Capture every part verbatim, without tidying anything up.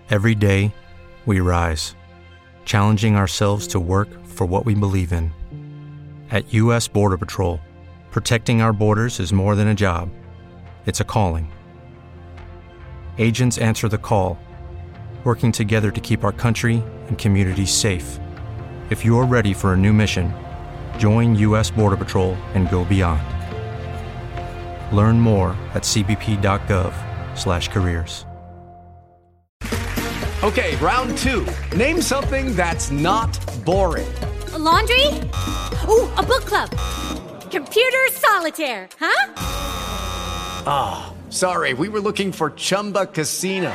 Every day, we rise, challenging ourselves to work for what we believe in. At U S Border Patrol, protecting our borders is more than a job. It's a calling. Agents answer the call, working together to keep our country and communities safe. If you're ready for a new mission, join U S Border Patrol and go beyond. Learn more at c b p dot gov slash careers. Okay, round two. Name something that's not boring. A laundry? Ooh, a book club. Computer solitaire, huh? Ah, oh, sorry, we were looking for Chumba Casino.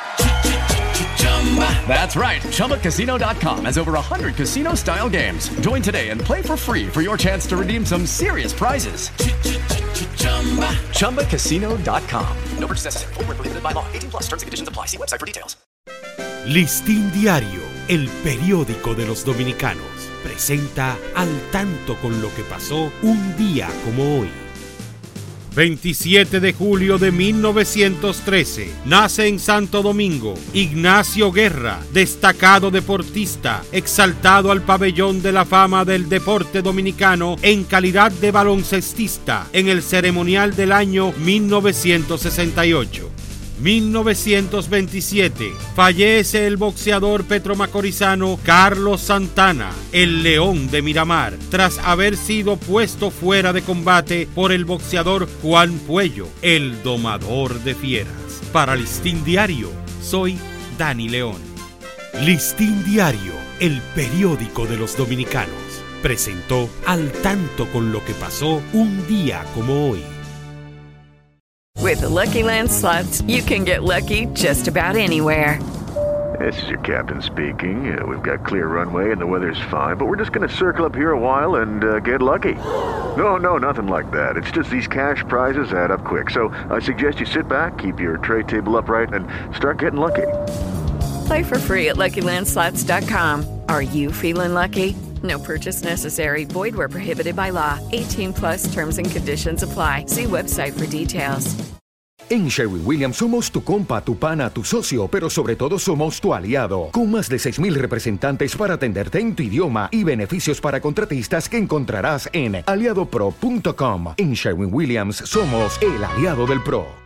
That's right, Chumba Casino dot com has over one hundred casino-style games. Join today and play for free for your chance to redeem some serious prizes. Chumba Casino dot com. No purchase necessary. Void where prohibited by law. eighteen plus terms and conditions apply. See website for details. Listín Diario, el periódico de los dominicanos, presenta Al tanto con lo que pasó un día como hoy. veintisiete de julio de mil novecientos trece, nace en Santo Domingo Ignacio Guerra, destacado deportista, exaltado al pabellón de la fama del deporte dominicano en calidad de baloncestista en el ceremonial del año mil novecientos sesenta y ocho. mil novecientos veintisiete, fallece el boxeador petromacorizano Carlos Santana, el León de Miramar, tras haber sido puesto fuera de combate por el boxeador Juan Puello, el domador de fieras. Para Listín Diario, soy Dani León. Listín Diario, el periódico de los dominicanos, presentó Al tanto con lo que pasó un día como hoy. With the Lucky Land Slots, you can get lucky just about anywhere. This is your captain speaking. Uh, we've got clear runway and the weather's fine, but we're just going to circle up here a while and uh, get lucky. No, no, nothing like that. It's just these cash prizes add up quick. So I suggest you sit back, keep your tray table upright, and start getting lucky. Play for free at lucky land slots dot com. Are you feeling lucky? No purchase necessary. Void where prohibited by law. eighteen plus terms and conditions apply. See website for details. En Sherwin-Williams somos tu compa, tu pana, tu socio, pero sobre todo somos tu aliado. Con más de seis mil representantes para atenderte en tu idioma y beneficios para contratistas que encontrarás en aliado pro punto com. En Sherwin-Williams somos el aliado del pro.